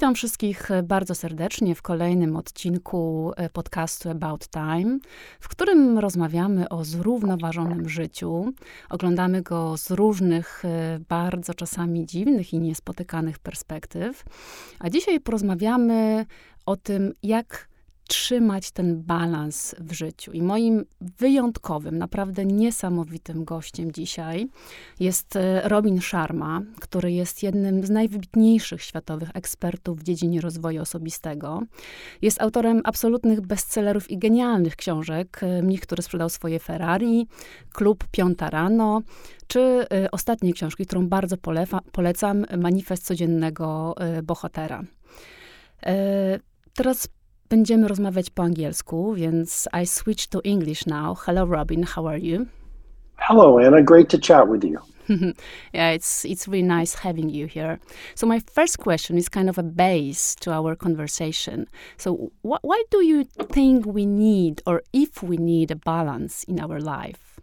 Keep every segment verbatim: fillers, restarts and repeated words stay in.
Witam wszystkich bardzo serdecznie w kolejnym odcinku podcastu About Time, w którym rozmawiamy o zrównoważonym życiu. Oglądamy go z różnych, bardzo czasami dziwnych i niespotykanych perspektyw. A dzisiaj porozmawiamy o tym, jak trzymać ten balans w życiu. I moim wyjątkowym, naprawdę niesamowitym gościem dzisiaj jest Robin Sharma, który jest jednym z najwybitniejszych światowych ekspertów w dziedzinie rozwoju osobistego. Jest autorem absolutnych bestsellerów i genialnych książek. Mnich, który sprzedał swoje Ferrari, Klub Piąta Rano, czy ostatniej książki, którą bardzo polefa, polecam, Manifest codziennego bohatera. Teraz będziemy rozmawiać po angielsku, więc I switch to English now. Hello, Robin. How are you? Hello, Anna. Great to chat with you. Yeah, it's it's really nice having you here. So my first question is kind of a base to our conversation. So wh- why do you think we need, or if we need, a balance in our life?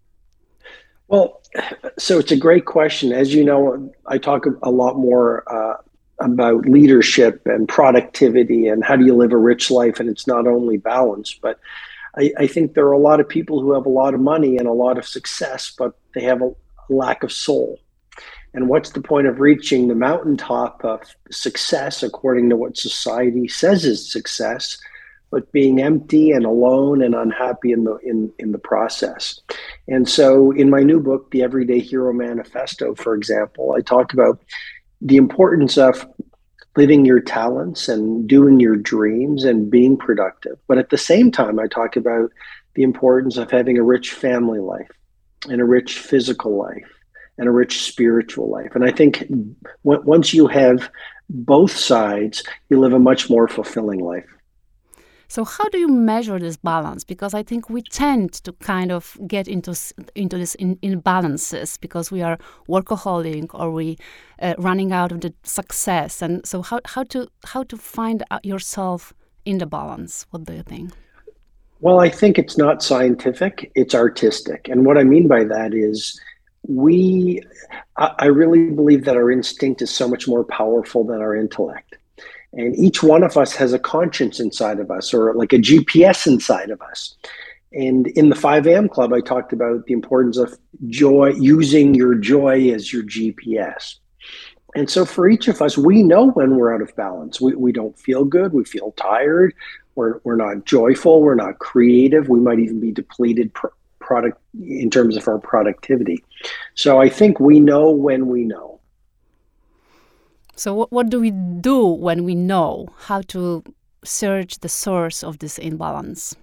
Well, so it's a great question. As you know, I talk a lot more uh, about leadership and productivity and how do you live a rich life. And it's not only balance, but I, I think there are a lot of people who have a lot of money and a lot of success, but they have a, a lack of soul. And what's the point of reaching the mountaintop of success according to what society says is success, but being empty and alone and unhappy in the in, in the process? And so in my new book, The Everyday Hero Manifesto, for example, I talk about the importance of living your talents and doing your dreams and being productive. But at the same time, I talk about the importance of having a rich family life and a rich physical life and a rich spiritual life. And I think w- once you have both sides, you live a much more fulfilling life. So how do you measure this balance? Because I think we tend to kind of get into into this in, imbalances because we are workaholic or we uh, running out of the success. And so how, how to how to find yourself in the balance? What do you think? Well, I think it's not scientific, it's artistic. And what I mean by that is we, I, I really believe that our instinct is so much more powerful than our intellect. And each one of us has a conscience inside of us, or like a G P S inside of us. And in the five a.m. Club, I talked about the importance of joy, using your joy as your G P S. And so for each of us, we know when we're out of balance. We we don't feel good. We feel tired. We're, we're not joyful. We're not creative. We might even be depleted pr- product in terms of our productivity. So I think we know when we know. So what, what do we do when we know how to search the source of this imbalance?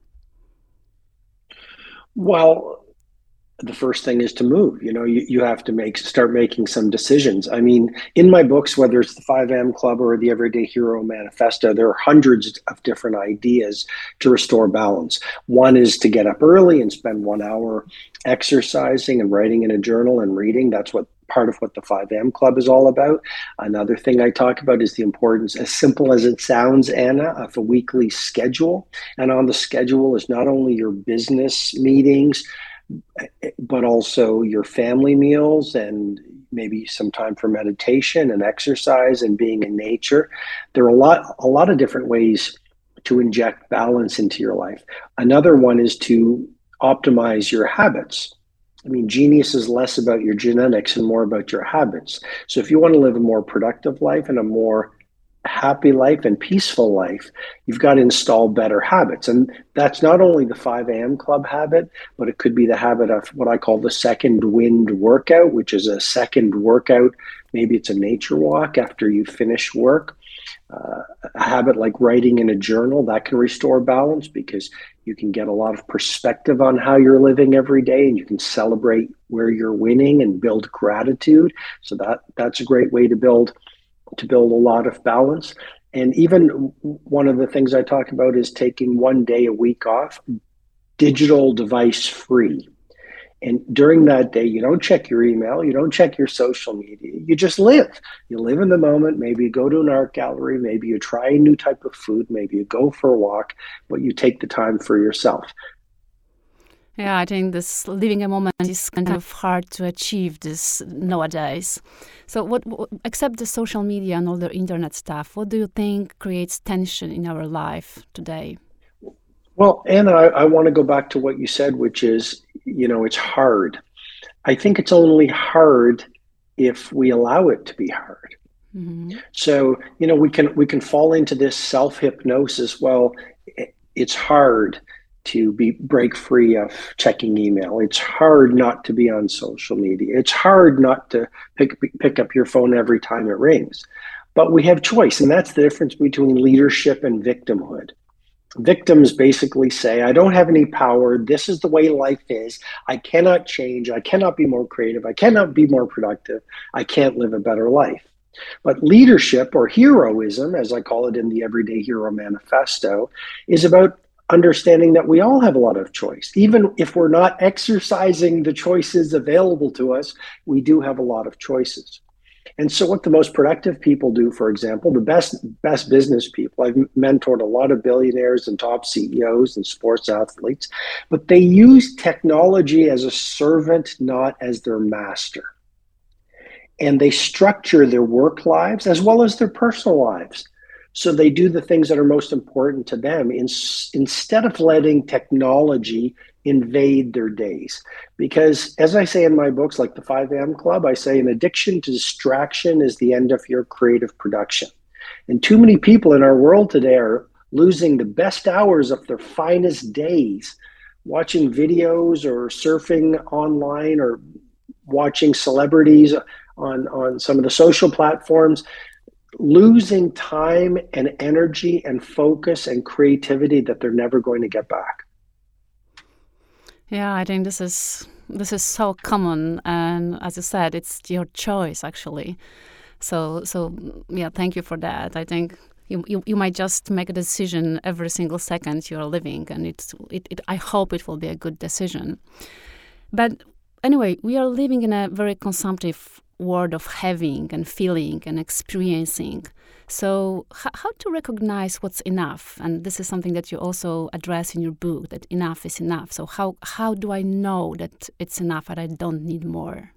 Well, the first thing is to move. You know, you, you have to make start making some decisions. I mean, in my books, whether it's the five a.m. Club or the Everyday Hero Manifesto, there are hundreds of different ideas to restore balance. One is to get up early and spend one hour exercising and writing in a journal and reading. That's what part of what the five a.m. Club is all about. Another thing I talk about is the importance, as simple as it sounds, Anna, of a weekly schedule. And on the schedule is not only your business meetings, but also your family meals and maybe some time for meditation and exercise and being in nature. There are a lot, a lot of different ways to inject balance into your life. Another one is to optimize your habits. I mean, genius is less about your genetics and more about your habits. So if you want to live a more productive life and a more happy life and peaceful life, you've got to install better habits. And that's not only the five a.m. Club habit, but it could be the habit of what I call the second wind workout, which is a second workout. Maybe it's a nature walk after you finish work. Uh, a habit like writing in a journal, that can restore balance because you can get a lot of perspective on how you're living every day, and you can celebrate where you're winning and build gratitude. So that that's a great way to build to build a lot of balance. And even one of the things I talk about is taking one day a week off, digital device free. And during that day, you don't check your email, you don't check your social media, you just live. You live in the moment. Maybe you go to an art gallery, maybe you try a new type of food, maybe you go for a walk, but you take the time for yourself. Yeah, I think this living a moment is kind of hard to achieve this nowadays. So what, what, except the social media and all the internet stuff, what do you think creates tension in our life today? Well, Anna, I, I want to go back to what you said, which is, you know, it's hard. I think it's only hard if we allow it to be hard. Mm-hmm. So, you know, we can we can fall into this self-hypnosis. Well, it's hard to be break free of checking email. It's hard not to be on social media. It's hard not to pick pick up your phone every time it rings. But we have choice, and that's the difference between leadership and victimhood. Victims basically say, I don't have any power. This is the way life is. I cannot change. I cannot be more creative. I cannot be more productive. I can't live a better life. But leadership, or heroism, as I call it in the Everyday Hero Manifesto, is about understanding that we all have a lot of choice. Even if we're not exercising the choices available to us, we do have a lot of choices. And so what the most productive people do, for example, the best best business people, I've mentored a lot of billionaires and top C E Os and sports athletes, but they use technology as a servant, not as their master. And they structure their work lives as well as their personal lives. So they do the things that are most important to them in, instead of letting technology invade their days. Because as I say in my books, like the five A M Club, I say an addiction to distraction is the end of your creative production. And too many people in our world today are losing the best hours of their finest days watching videos or surfing online or watching celebrities on, on some of the social platforms, losing time and energy and focus and creativity that they're never going to get back. Yeah, I think this is this is so common, and as you said, it's your choice actually. So so yeah, thank you for that. I think you you, you might just make a decision every single second you're living, and it's it, it I hope it will be a good decision. But anyway, we are living in a very consumptive world of having and feeling and experiencing. So h- how to recognize what's enough? And this is something that you also address in your book, that enough is enough. So how, how do I know that it's enough and I don't need more?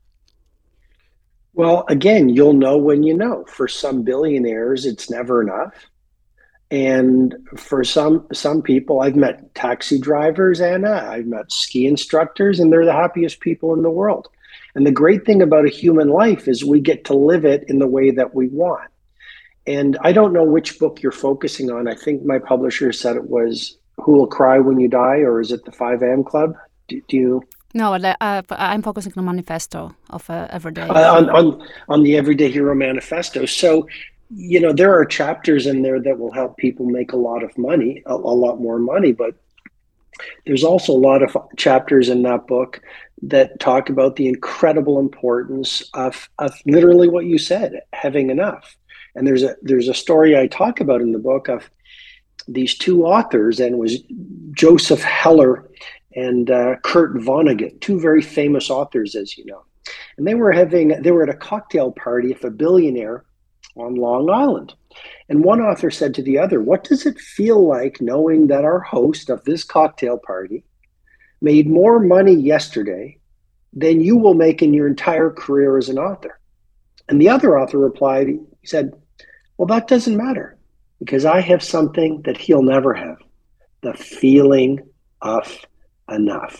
Well, again, you'll know when you know. For some billionaires, it's never enough. And for some some people, I've met taxi drivers, Anna, I've met ski instructors, and they're the happiest people in the world. And the great thing about a human life is we get to live it in the way that we want. And I don't know which book you're focusing on. I think my publisher said it was Who Will Cry When You Die, or is it the five A M Club? Do, do you? No, uh, I'm focusing on the manifesto of uh, Everyday Uh, on, Hero. on, on the Everyday Hero Manifesto. So, you know, there are chapters in there that will help people make a lot of money, a, a lot more money, but there's also a lot of chapters in that book that talk about the incredible importance of, of literally what you said, having enough. And there's a there's a story I talk about in the book of these two authors, and it was Joseph Heller and uh, Kurt Vonnegut, two very famous authors, as you know. And they were having they were at a cocktail party of a billionaire on Long Island. And one author said to the other, "What does it feel like knowing that our host of this cocktail party made more money yesterday than you will make in your entire career as an author?" And the other author replied, he said, "Well, that doesn't matter, because I have something that he'll never have, the feeling of enough."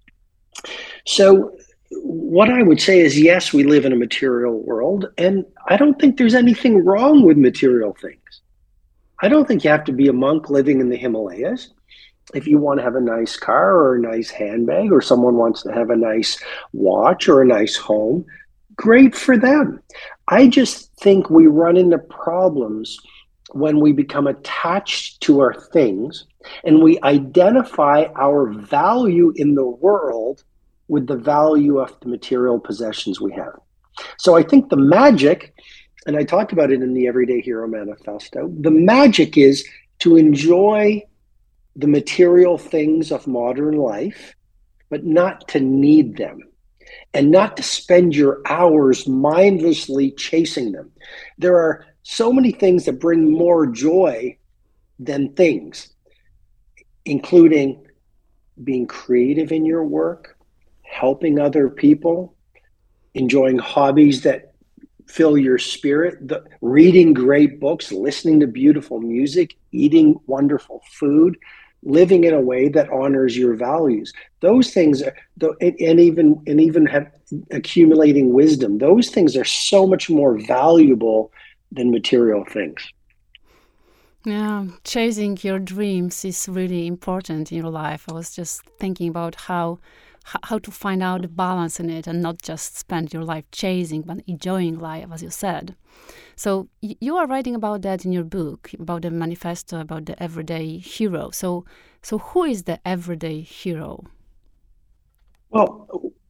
So what I would say is, yes, we live in a material world, and I don't think there's anything wrong with material things. I don't think you have to be a monk living in the Himalayas. If you want to have a nice car or a nice handbag, or someone wants to have a nice watch or a nice home, great for them. I just think we run into problems when we become attached to our things and we identify our value in the world with the value of the material possessions we have. So I think the magic, and I talk about it in the Everyday Hero Manifesto, the magic is to enjoy the material things of modern life, but not to need them, and not to spend your hours mindlessly chasing them. There are so many things that bring more joy than things, including being creative in your work, helping other people, enjoying hobbies that fill your spirit, the, reading great books, listening to beautiful music, eating wonderful food, living in a way that honors your values. Those things are, and even and even have accumulating wisdom. Those things are so much more valuable than material things. Yeah, chasing your dreams is really important in your life. I was just thinking about how how to find out the balance in it and not just spend your life chasing, but enjoying life, as you said. So you are writing about that in your book, about the manifesto, about the everyday hero. So, so who is the everyday hero? Well,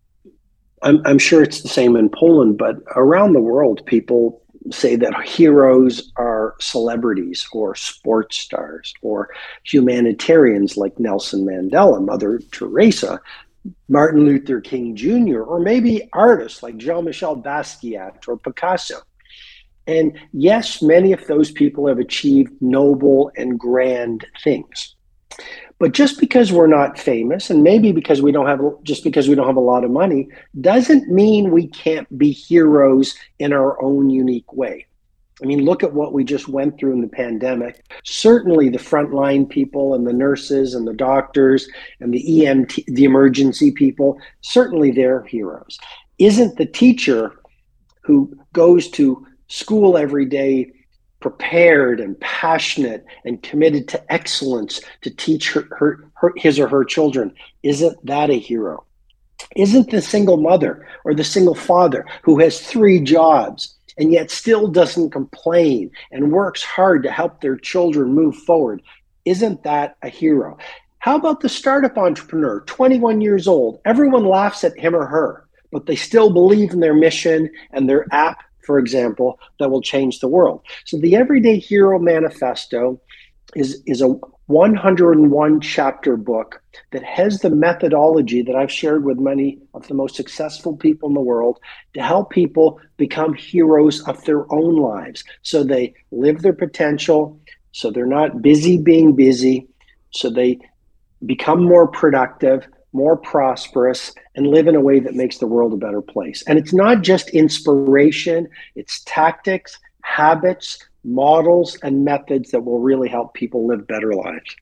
I'm, I'm sure it's the same in Poland, but around the world, people say that heroes are celebrities or sports stars or humanitarians like Nelson Mandela, Mother Teresa, Martin Luther King Junior, or maybe artists like Jean-Michel Basquiat or Picasso. And yes, many of those people have achieved noble and grand things. But just because we're not famous, and maybe because we don't have, just because we don't have a lot of money, doesn't mean we can't be heroes in our own unique way. I mean, look at what we just went through in the pandemic. Certainly the frontline people and the nurses and the doctors and the E M T, the emergency people, certainly they're heroes. Isn't the teacher who goes to school every day prepared and passionate and committed to excellence to teach her, her, her, his or her children, isn't that a hero? Isn't the single mother or the single father who has three jobs and yet still doesn't complain and works hard to help their children move forward, isn't that a hero? How about the startup entrepreneur, twenty-one years old? Everyone laughs at him or her, but they still believe in their mission and their app, for example, that will change the world. So the Everyday Hero Manifesto is, is a one hundred one chapter book that has the methodology that I've shared with many of the most successful people in the world to help people become heroes of their own lives. So they live their potential, so they're not busy being busy, so they become more productive, more prosperous, and live in a way that makes the world a better place. And it's not just inspiration, it's tactics, habits, models, and methods that will really help people live better lives.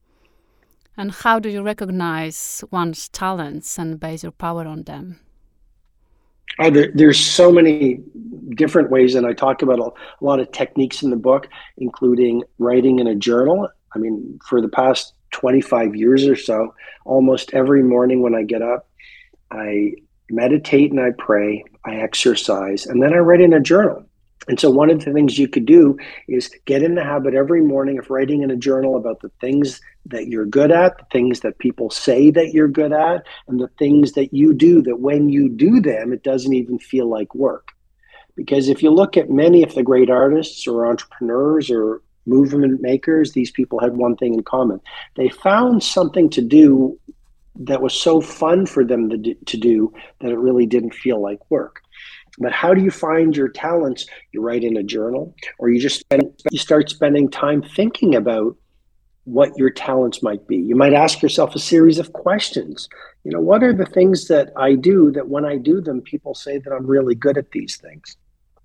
And how do you recognize one's talents and base your power on them? Oh, there, there's so many different ways, and I talk about a, a lot of techniques in the book, including writing in a journal. I mean, for the past twenty-five years or so, almost every morning when I get up, I meditate and I pray, I exercise, and then I write in a journal. And so one of the things you could do is get in the habit every morning of writing in a journal about the things that you're good at, the things that people say that you're good at, and the things that you do that when you do them, it doesn't even feel like work. Because if you look at many of the great artists or entrepreneurs or movement makers, these people had one thing in common. They found something to do that was so fun for them to do, to do that it really didn't feel like work. But how do you find your talents? You write in a journal, or you just spend, you start spending time thinking about what your talents might be. You might ask yourself a series of questions. You know, what are the things that I do that when I do them, people say that I'm really good at these things?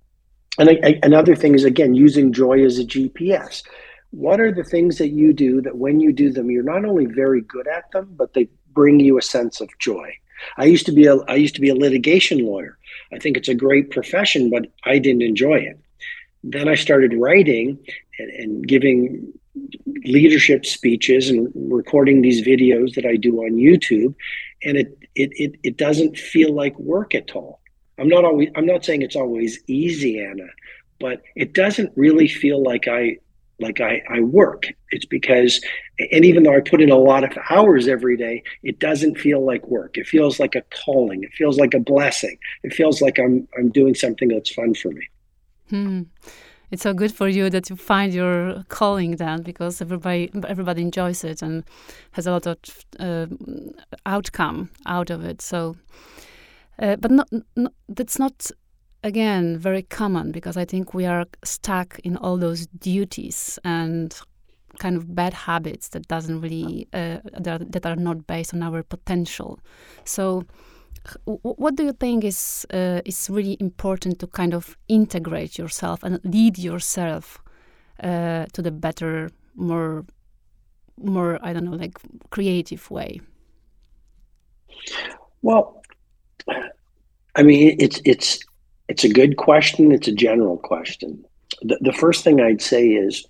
And I, I, another thing is, again, using joy as a G P S. What are the things that you do that when you do them, you're not only very good at them, but they bring you a sense of joy? I used to be a I used to be a litigation lawyer. I think it's a great profession, but I didn't enjoy it. Then I started writing and, and giving leadership speeches and recording these videos that I do on YouTube, and it it it, it doesn't feel like work at all. I'm not always I'm not saying it's always easy, Anna, but it doesn't really feel like I like I, I work. It's because, and even though I put in a lot of hours every day, it doesn't feel like work. It feels like a calling. It feels like a blessing. It feels like I'm I'm doing something that's fun for me. Hmm. It's so good for you that you find your calling then, because everybody everybody enjoys it and has a lot of uh, outcome out of it. So, uh, but not, not that's not. Again, very common, because I think we are stuck in all those duties and kind of bad habits that doesn't really uh, that, that are not based on our potential. So w- what do you think is uh, is really important to kind of integrate yourself and lead yourself uh, to the better, more more I don't know, like creative way? Well, I mean, it's it's it's a good question. It's a general question. The, the first thing I'd say is,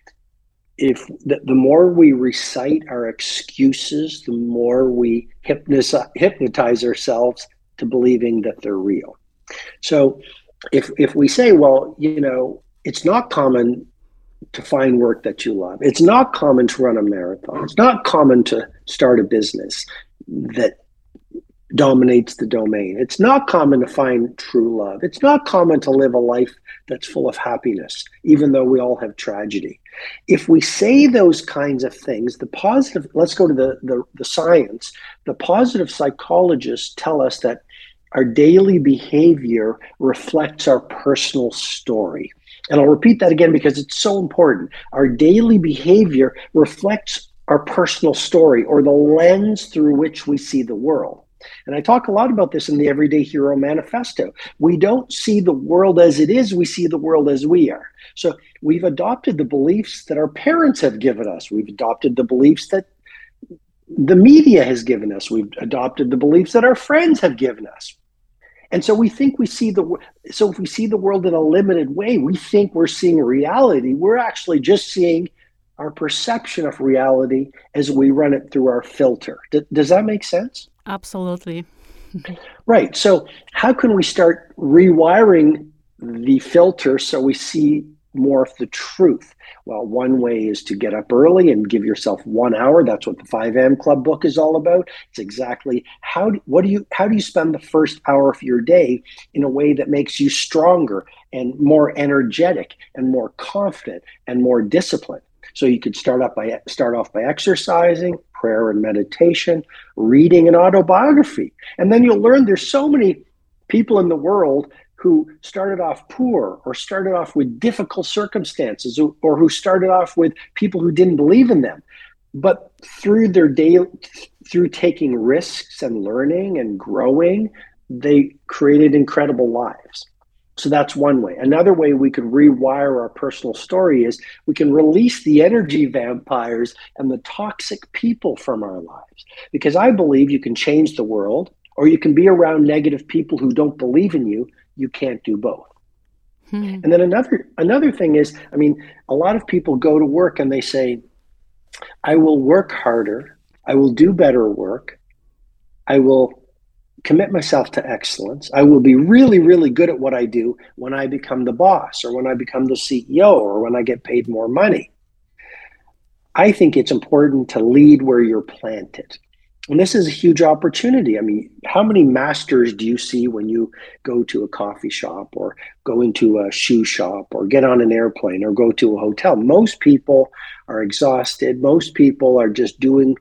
if the, the more we recite our excuses, the more we hypnotize, hypnotize ourselves to believing that they're real. So if if we say, well, you know, it's not common to find work that you love. It's not common to run a marathon. It's not common to start a business that dominates the domain. It's not common to find true love. It's not common to live a life that's full of happiness, even though we all have tragedy. If we say those kinds of things, the positive, let's go to the, the, the science, the positive psychologists tell us that our daily behavior reflects our personal story. And I'll repeat that again because it's so important. Our daily behavior reflects our personal story, or the lens through which we see the world. And I talk a lot about this in the Everyday Hero Manifesto. We don't see the world as it is, we see the world as we are. So we've adopted the beliefs that our parents have given us. We've adopted the beliefs that the media has given us. We've adopted the beliefs that our friends have given us. And so we think we see the, so if we see the world in a limited way, we think we're seeing reality. We're actually just seeing our perception of reality as we run it through our filter. D- does that make sense? Absolutely. Right. So how can we start rewiring the filter so we see more of the truth? Well, one way is to get up early and give yourself one hour. That's what the five a.m. Club book is all about. It's exactly how do, what do you how do you spend the first hour of your day in a way that makes you stronger and more energetic and more confident and more disciplined. So you could start up by start off by exercising, prayer and meditation, reading an autobiography. And then you'll learn there's so many people in the world who started off poor or started off with difficult circumstances, or who started off with people who didn't believe in them. But through their day, through taking risks and learning and growing, they created incredible lives. So that's one way. Another way we could rewire our personal story is we can release the energy vampires and the toxic people from our lives. Because I believe you can change the world, or you can be around negative people who don't believe in you. You can't do both. Hmm. And then another another thing is, I mean, a lot of people go to work and they say, I will work harder, I will do better work, I will commit myself to excellence, I will be really, really good at what I do when I become the boss, or when I become the C E O, or when I get paid more money. I think it's important to lead where you're planted. And this is a huge opportunity. I mean, how many masters do you see when you go to a coffee shop, or go into a shoe shop, or get on an airplane, or go to a hotel? Most people are exhausted. Most people are just doing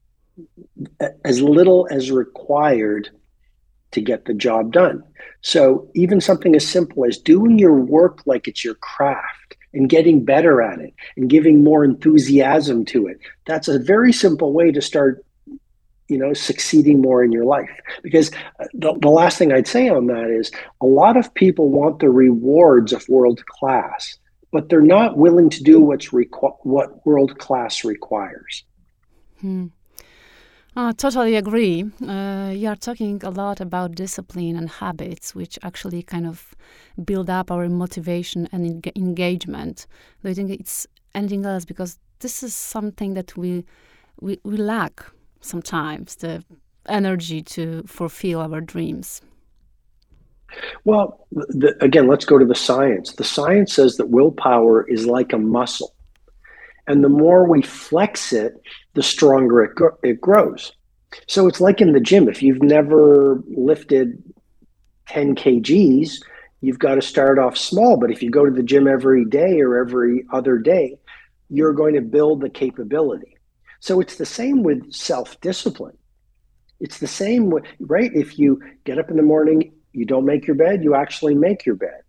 as little as required to get the job done. So even something as simple as doing your work like it's your craft and getting better at it and giving more enthusiasm to it, that's a very simple way to start, you know, succeeding more in your life. Because the, the last thing I'd say on that is, a lot of people want the rewards of world class, but they're not willing to do what's requ- what world class requires. Hmm. I totally agree. Uh, you are talking a lot about discipline and habits, which actually kind of build up our motivation and en- engagement. Do you think it's anything else? Because this is something that we we, we lack sometimes, the energy to fulfill our dreams. Well, the, again, let's go to the science. The science says that willpower is like a muscle. And the more we flex it, the stronger it, gro- it grows. So it's like in the gym. If you've never lifted ten kilograms, you've got to start off small. But if you go to the gym every day or every other day, you're going to build the capability. So it's the same with self-discipline. It's the same way, right? If you get up in the morning, you don't make your bed, you actually make your bed.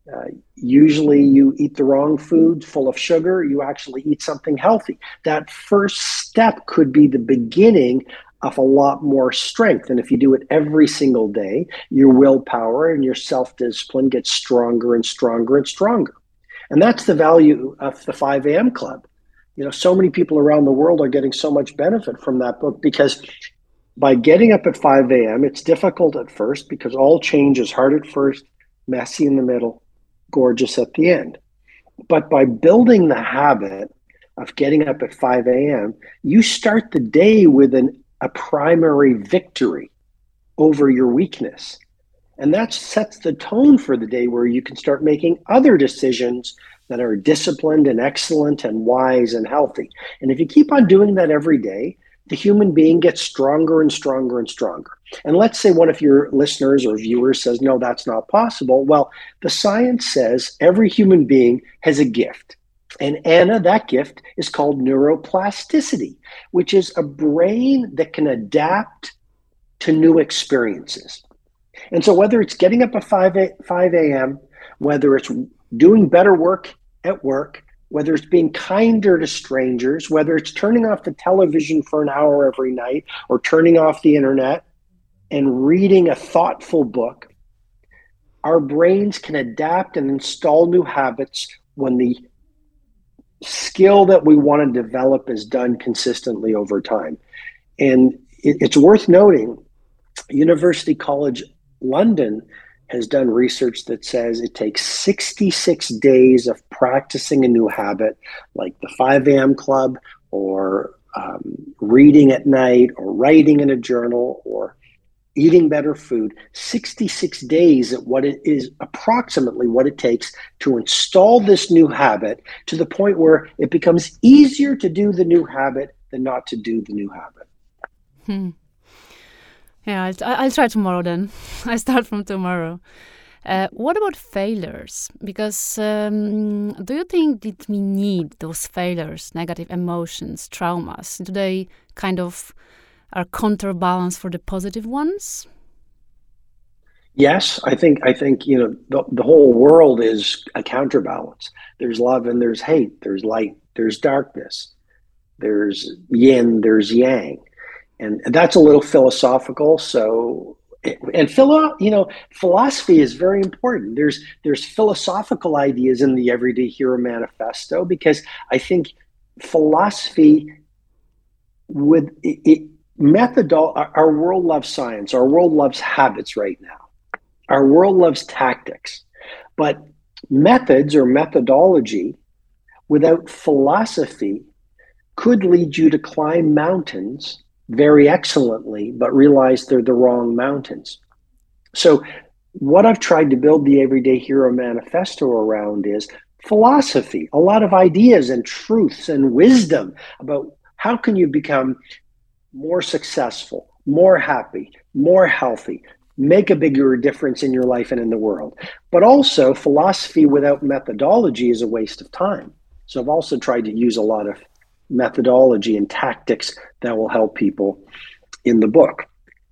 Uh, usually you eat the wrong food full of sugar, you actually eat something healthy. That first step could be the beginning of a lot more strength. And if you do it every single day, your willpower and your self-discipline gets stronger and stronger and stronger. And that's the value of the five a.m. Club. You know, so many people around the world are getting so much benefit from that book because by getting up at five a.m., it's difficult at first because all change is hard at first, messy in the middle, gorgeous at the end. But by building the habit of getting up at five a.m., you start the day with an, a primary victory over your weakness. And that sets the tone for the day where you can start making other decisions that are disciplined and excellent and wise and healthy. And if you keep on doing that every day, the human being gets stronger and stronger and stronger. And let's say one of your listeners or viewers says, no, that's not possible. Well, the science says every human being has a gift. And Anna, that gift is called neuroplasticity, which is a brain that can adapt to new experiences. And so whether it's getting up at five a.m., whether it's doing better work at work, whether it's being kinder to strangers, whether it's turning off the television for an hour every night or turning off the internet and reading a thoughtful book, our brains can adapt and install new habits when the skill that we want to develop is done consistently over time. And it, it's worth noting, University College London has done research that says it takes sixty-six days of practicing a new habit, like the five a.m. Club or um, reading at night or writing in a journal or eating better food, sixty-six days at what it is approximately what it takes to install this new habit to the point where it becomes easier to do the new habit than not to do the new habit. Hmm. Yeah, I'll, I'll try tomorrow then. I start from tomorrow. Uh, what about failures? Because um, do you think that we need those failures, negative emotions, traumas? Do they kind of are counterbalance for the positive ones? Yes, I think I think you know the, the whole world is a counterbalance. There's love and there's hate. There's light. There's darkness. There's yin. There's yang. And that's a little philosophical. So, and philo, you know, philosophy is very important. There's there's philosophical ideas in the Everyday Hero Manifesto because I think philosophy with it, it methodol. Our world loves science. Our world loves habits right now. Our world loves tactics, but methods or methodology without philosophy could lead you to climb mountains very excellently, but realize they're the wrong mountains. So what I've tried to build the Everyday Hero Manifesto around is philosophy, a lot of ideas and truths and wisdom about how can you become more successful, more happy, more healthy, make a bigger difference in your life and in the world. But also philosophy without methodology is a waste of time. So I've also tried to use a lot of methodology and tactics that will help people in the book.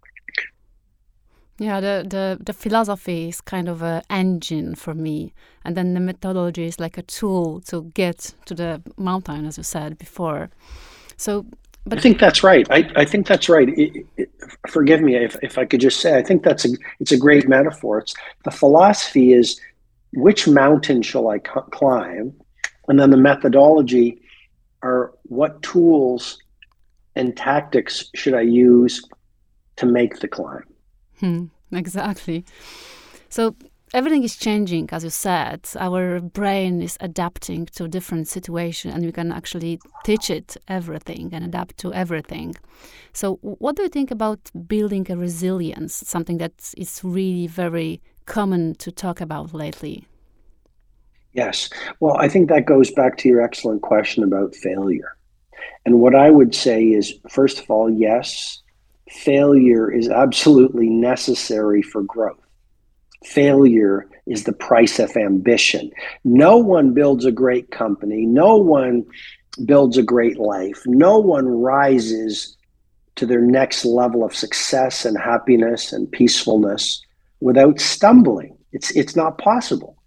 Yeah, the, the, the philosophy is kind of an engine for me. And then the methodology is like a tool to get to the mountain, as you said before. So, but I think that's right. I, I think that's right. It, it, forgive me if, if I could just say, I think that's a, it's a great metaphor. It's, the philosophy is which mountain shall I c- climb? And then the methodology are what tools and tactics should I use to make the climb? Hmm, exactly. So everything is changing, as you said. Our brain is adapting to different situations, and we can actually teach it everything and adapt to everything. So what do you think about building a resilience, something that is really very common to talk about lately? Yes. Well, I think that goes back to your excellent question about failure. And what I would say is, first of all, yes, failure is absolutely necessary for growth. Failure is the price of ambition. No one builds a great company. No one builds a great life. No one rises to their next level of success and happiness and peacefulness without stumbling. It's, it's not possible.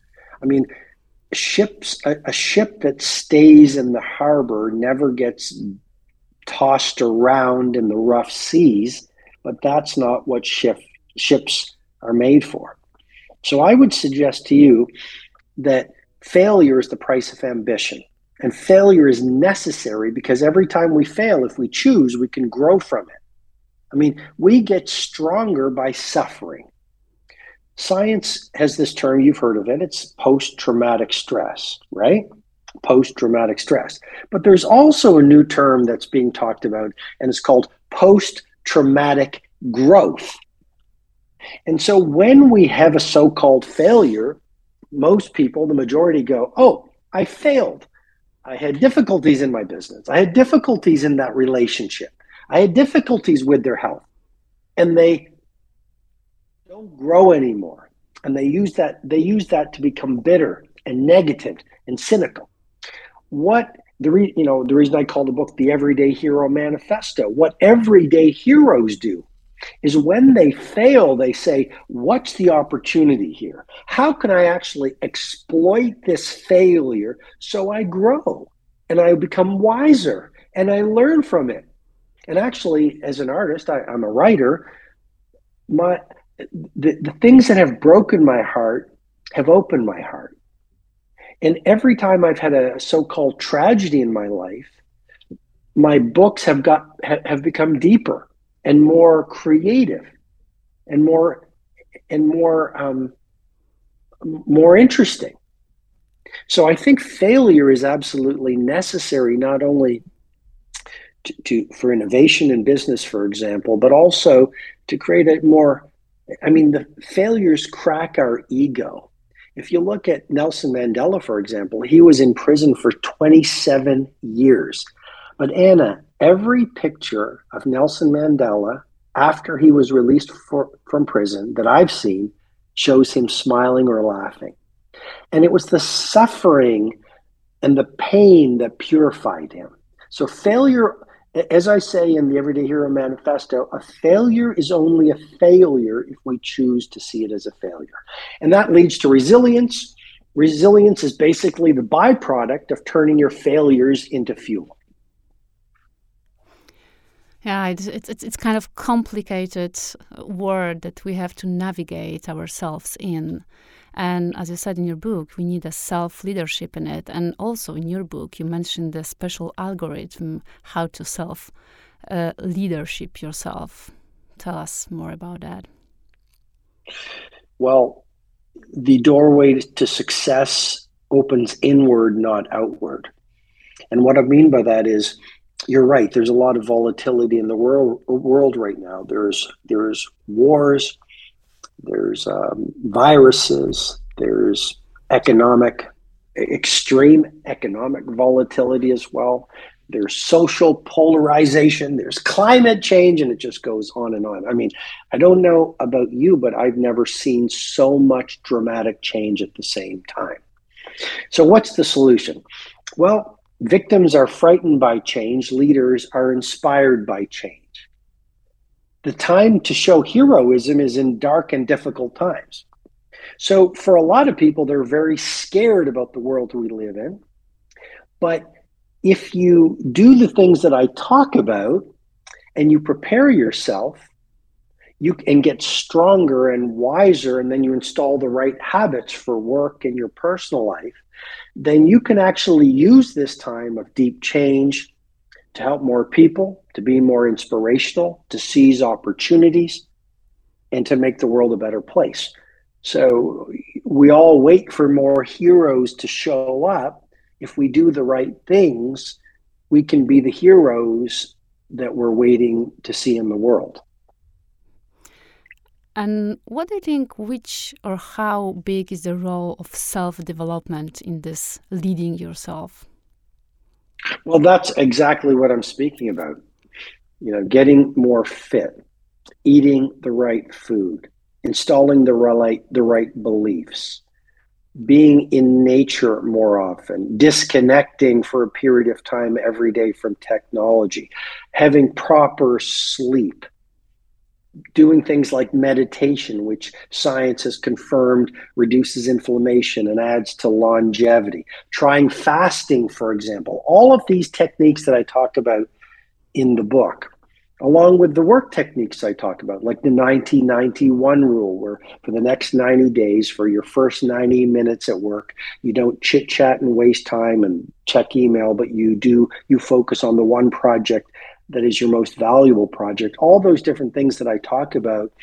I mean, ships, a, a ship that stays in the harbor never gets tossed around in the rough seas, but that's not what ship, ships are made for. So I would suggest to you that failure is the price of ambition. And failure is necessary because every time we fail, if we choose, we can grow from it. I mean, we get stronger by suffering. Science has this term, you've heard of it, it's post-traumatic stress, right? Post-traumatic stress. But there's also a new term that's being talked about, and it's called post-traumatic growth. And so when we have a so-called failure, most people, the majority go, oh, I failed. I had difficulties in my business. I had difficulties in that relationship. I had difficulties with their health. And they don't grow anymore. And they use that, they use that to become bitter and negative and cynical. What the re, you know, the reason I call the book The Everyday Hero Manifesto, what everyday heroes do is when they fail, they say, what's the opportunity here? How can I actually exploit this failure so I grow and I become wiser and I learn from it? And actually, as an artist, I, I'm a writer, my the, the things that have broken my heart have opened my heart. And every time I've had a so-called tragedy in my life, my books have got have become deeper and more creative and more and more um, more interesting. So I think failure is absolutely necessary, not only to, to for innovation in business, for example, but also to create a more, I mean, the failures crack our ego. If you look at Nelson Mandela, for example, he was in prison for twenty-seven years. But Anna, every picture of Nelson Mandela after he was released for, from prison that I've seen shows him smiling or laughing. And it was the suffering and the pain that purified him. So failure, as I say in the Everyday Hero Manifesto, a failure is only a failure if we choose to see it as a failure. And that leads to resilience. Resilience is basically the byproduct of turning your failures into fuel. Yeah, it's, it's, it's kind of complicated word that we have to navigate ourselves in. And as you said in your book, we need a self-leadership in it. And also in your book, you mentioned the special algorithm, how to self-leadership uh, yourself. Tell us more about that. Well, the doorway to success opens inward, not outward. And what I mean by that is, you're right, there's a lot of volatility in the world, world right now. There's, there's wars. There's um, viruses, there's economic, extreme economic volatility as well. There's social polarization, there's climate change, and it just goes on and on. I mean, I don't know about you, but I've never seen so much dramatic change at the same time. So what's the solution? Well, victims are frightened by change, leaders are inspired by change. The time to show heroism is in dark and difficult times. So for a lot of people, they're very scared about the world we live in. But if you do the things that I talk about and you prepare yourself, you can get stronger and wiser, and then you install the right habits for work and your personal life, then you can actually use this time of deep change to help more people, to be more inspirational, to seize opportunities, and to make the world a better place. So we all wait for more heroes to show up. If we do the right things, we can be the heroes that we're waiting to see in the world. And what do you think, which or how big is the role of self-development in this leading yourself? Well, that's exactly what I'm speaking about. You know, getting more fit, eating the right food, installing the right, the right beliefs, being in nature more often, disconnecting for a period of time every day from technology, having proper sleep. doing things like meditation, which science has confirmed reduces inflammation and adds to longevity. Trying fasting, for example. All of these techniques that I talk about in the book, along with the work techniques I talk about, like the ninety ninety-one rule, where for the next ninety days, for your first ninety minutes at work, you don't chit chat and waste time and check email, but you do, you focus on the one project that is your most valuable project. All those different things that I talk about,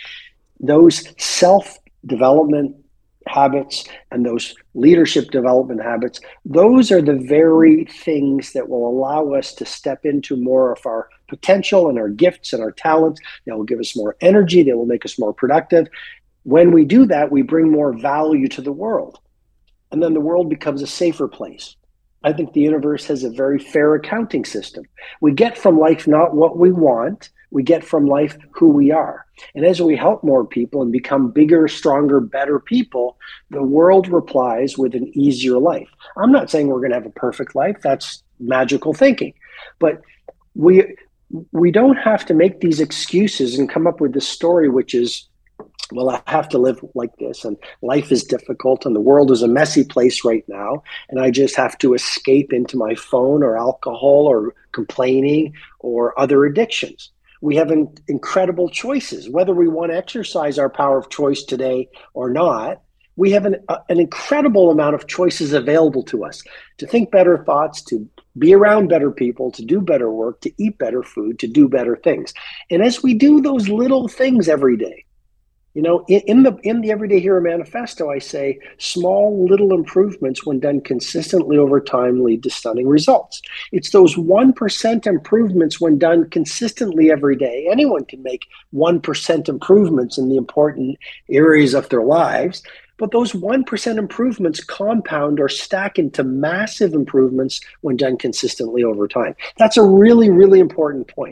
those self-development habits and those leadership development habits, those are the very things that will allow us to step into more of our potential and our gifts and our talents. That will give us more energy. They will make us more productive. When we do that, we bring more value to the world. And then the world becomes a safer place. I think the universe has a very fair accounting system. We get from life not what we want, we get from life who we are. And as we help more people and become bigger, stronger, better people, the world replies with an easier life. I'm not saying we're going to have a perfect life. That's magical thinking. But we we don't have to make these excuses and come up with this story, which is, well, I have to live like this, and life is difficult, and the world is a messy place right now, and I just have to escape into my phone or alcohol or complaining or other addictions. We have in, incredible choices. Whether we want to exercise our power of choice today or not, we have an, uh, an incredible amount of choices available to us to think better thoughts, to be around better people, to do better work, to eat better food, to do better things. And as we do those little things every day, you know, in, in the in the Everyday Hero Manifesto, I say small little improvements when done consistently over time lead to stunning results. It's those one percent improvements when done consistently every day. Anyone can make one percent improvements in the important areas of their lives, but those one percent improvements compound or stack into massive improvements when done consistently over time. That's a really, really important point.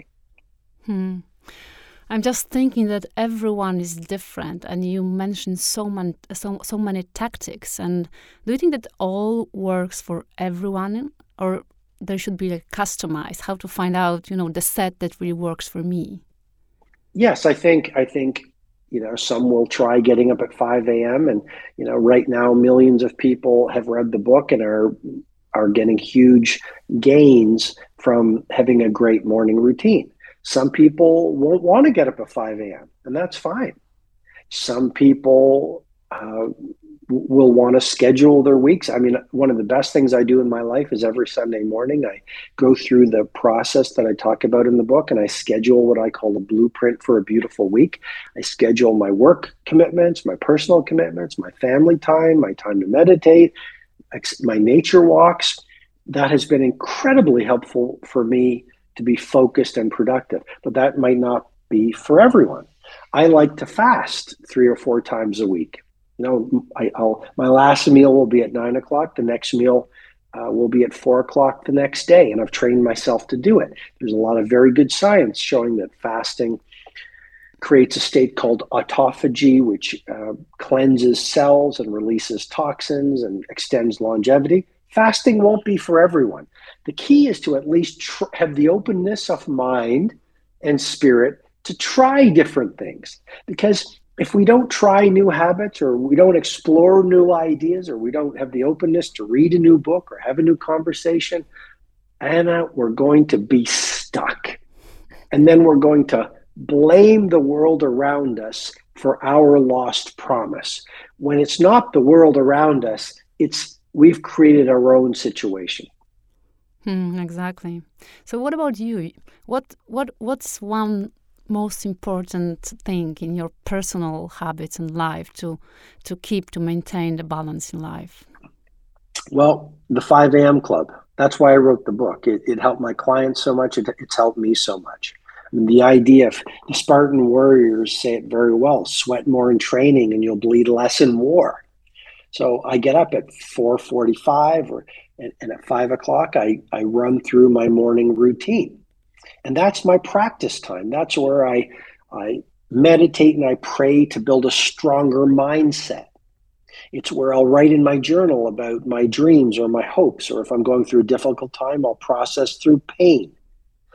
Hmm. I'm just thinking that everyone is different, and you mentioned so many, so, so many tactics. And do you think that all works for everyone, or there should be like customized? How to find out, you know, the set that really works for me? Yes, I think I think you know some will try getting up at five a.m. and you know right now millions of people have read the book and are are getting huge gains from having a great morning routine. Some people won't want to get up at five a.m. and that's fine. Some people uh, will want to schedule their weeks. I mean, one of the best things I do in my life is every Sunday morning, I go through the process that I talk about in the book, and I schedule what I call a blueprint for a beautiful week. I schedule my work commitments, my personal commitments, my family time, my time to meditate, my nature walks. That has been incredibly helpful for me to be focused and productive, but that might not be for everyone. I like to fast three or four times a week. You know, I, I'll, my last meal will be at nine o'clock. The next meal uh, will be at four o'clock the next day, and I've trained myself to do it. There's a lot of very good science showing that fasting creates a state called autophagy, which uh, cleanses cells and releases toxins and extends longevity. Fasting won't be for everyone. The key is to at least tr- have the openness of mind and spirit to try different things. Because if we don't try new habits, or we don't explore new ideas, or we don't have the openness to read a new book or have a new conversation, Anna, we're going to be stuck. And then we're going to blame the world around us for our lost promise. When it's not the world around us, it's we've created our own situation. Hmm, exactly. So what about you? What what what's one most important thing in your personal habits in life to to keep to maintain the balance in life? Well, the five a.m. club. That's why I wrote the book. It, it helped my clients so much. It, it's helped me so much. I mean, the idea of the Spartan warriors say it very well: sweat more in training and you'll bleed less in war. So I get up at four forty-five or and, and at five o'clock, I, I run through my morning routine. And that's my practice time. That's where I, I meditate and I pray to build a stronger mindset. It's where I'll write in my journal about my dreams or my hopes, or if I'm going through a difficult time, I'll process through pain.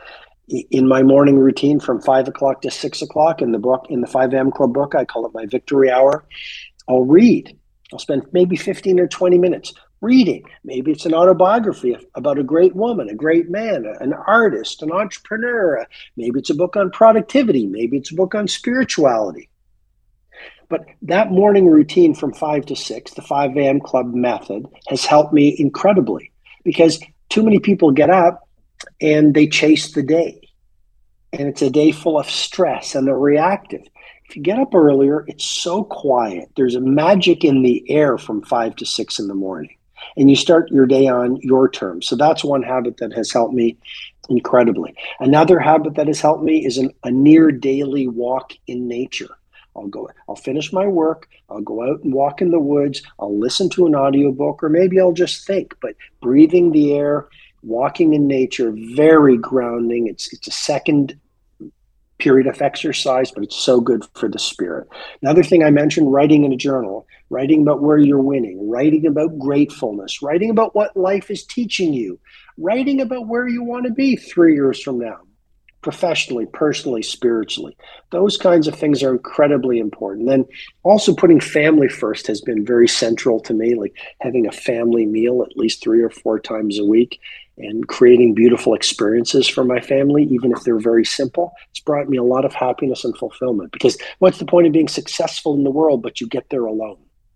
In my morning routine from five o'clock to six o'clock in the book, in the five a.m. Club book, I call it my victory hour. I'll read. I'll spend maybe fifteen or twenty minutes reading. Maybe it's an autobiography about a great woman, a great man, an artist, an entrepreneur. Maybe it's a book on productivity. Maybe it's a book on spirituality. But that morning routine from five to six, the five a.m. Club method, has helped me incredibly, because too many people get up and they chase the day. And it's a day full of stress and they're reactive. If you get up earlier, it's so quiet. There's a magic in the air from five to six in the morning. And you start your day on your terms. So that's one habit that has helped me incredibly. Another habit that has helped me is an, a near daily walk in nature. I'll go, I'll finish my work, I'll go out and walk in the woods, I'll listen to an audiobook, or maybe I'll just think, but breathing the air, walking in nature, very grounding. It's, it's a second period of exercise, but it's so good for the spirit. Another thing I mentioned, writing in a journal, writing about where you're winning, writing about gratefulness, writing about what life is teaching you, writing about where you want to be three years from now, professionally, personally, spiritually. Those kinds of things are incredibly important. Then also putting family first has been very central to me, like having a family meal at least three or four times a week and creating beautiful experiences for my family, even if they're very simple. It's brought me a lot of happiness and fulfillment, because what's the point of being successful in the world, but you get there alone?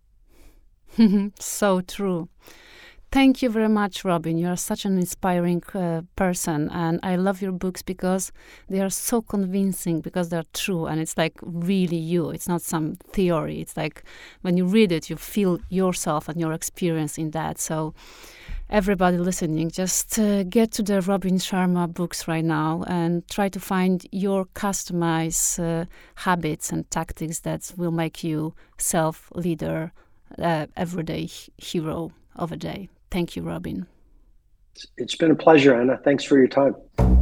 So true. Thank you very much, Robin. You are such an inspiring uh, person, and I love your books because they are so convincing, because they're true, and it's like really you. It's not some theory. It's like when you read it, you feel yourself and your experience in that. So everybody listening, just uh, get to the Robin Sharma books right now and try to find your customized uh, habits and tactics that will make you self-leader, uh, everyday hero of a day. Thank you, Robin. It's been a pleasure, Anna. Thanks for your time.